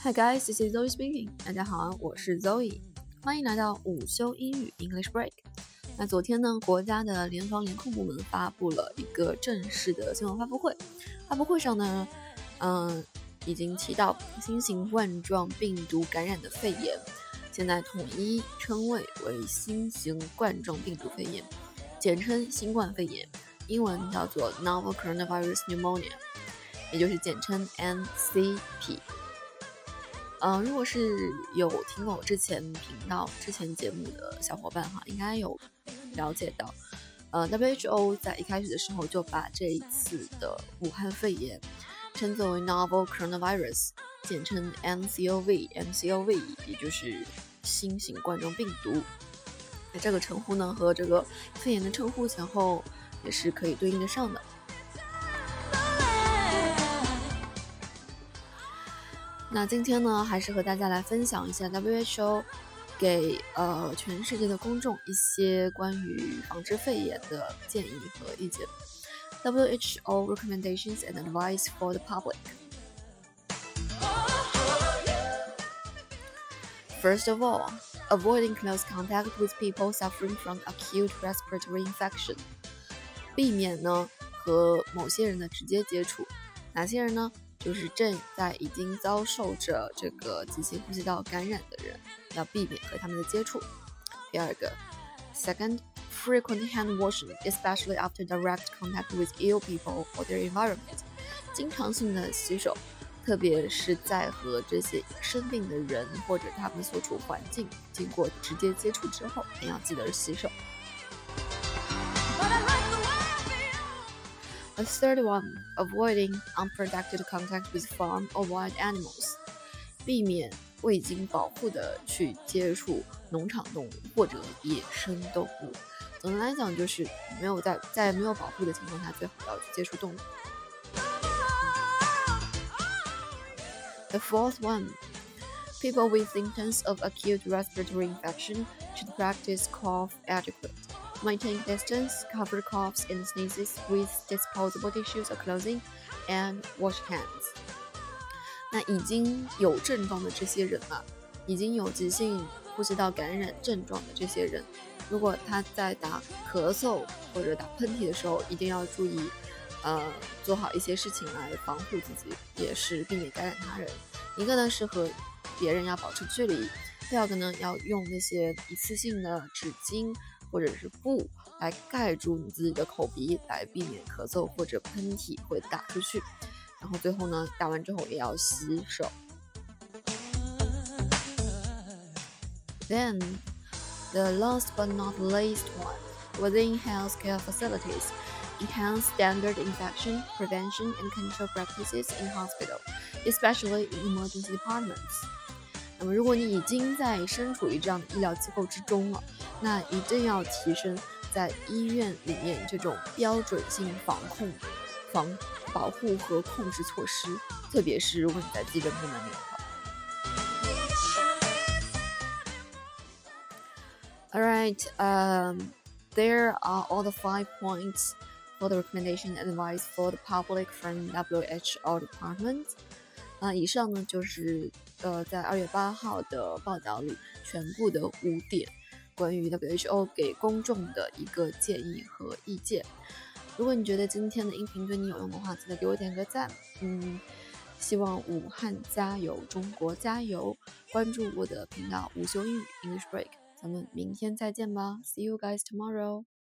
Hi guys, this is Zoe speaking. 大家好，我是 Zoe， 欢迎来到午休英语 English Break。那昨天呢，国家的联防联控部门发布了一个正式的新闻发布会。发布会上呢，已经提到新型冠状病毒感染的肺炎，现在统一称谓为新型冠状病毒肺炎，简称新冠肺炎，英文叫做 Novel Coronavirus Pneumonia， 也就是简称 NCP。如果是有听过我之前节目的小伙伴哈，应该有了解到，WHO 在一开始的时候就把这一次的武汉肺炎称作为 Novel Coronavirus， 简称 NCOV， 也就是新型冠状病毒。那这个称呼呢，和这个肺炎的称呼前后也是可以对应得上的。那今天呢，还是和大家来分享一下 WHO 给全世界的公众一些关于防治肺炎的建议和意见。WHO recommendations and advice for the public. First of all, avoiding close contact with people suffering from acute respiratory infection. 避免呢和某些人的直接接触。哪些人呢？就是正在已经遭受着这个急性呼吸道感染的人，要避免和他们的接触。第二个 ，Second, frequent hand washing, especially after direct contact with ill people or their environment. 经常性的洗手，特别是在和这些生病的人或者他们所处环境经过直接接触之后，也要记得洗手。A third one, avoiding unprotected contact with farm or wild animals. 避免未经保护的去接触农场动物或者野生动物。总的来讲，就是在没有保护的情况下，最好要去接触动物。The fourth one, people with symptoms of acute respiratory infection should practice cough etiquette.Maintain distance, cover coughs and sneezes with disposable tissues or clothing, and wash hands. 那已经有症状的这些人啊，已经有急性呼吸道感染症状的这些人，如果他在打咳嗽或者打喷嚏的时候，一定要注意，做好一些事情来防护自己，也是避免感染他人。一个呢是和别人要保持距离，第二个呢要用那些一次性的纸巾或者是布来盖住你自己的口鼻，来避免咳嗽或者喷嚏会打出去。然后最后呢，打完之后也要洗手。Then, the last but not least one, within healthcare facilities, enhance standard infection prevention and control practices in hospital, especially in emergency departments.那么如果你已经在身处于这样的医疗机构之中了，那一定要提升在医院里面这种标准性保护和控制措施，特别是如果你在急诊部门里的话。Alright, there are all the 5 points for the recommendation and advice for the public from WHO department.以上呢就是在2月8号的报道里全部的5点关于 WHO 给公众的一个建议和意见。如果你觉得今天的音频对你有用的话，记得给我点个赞。希望武汉加油，中国加油！关注我的频道午休英语 English Break， 咱们明天再见吧。See you guys tomorrow.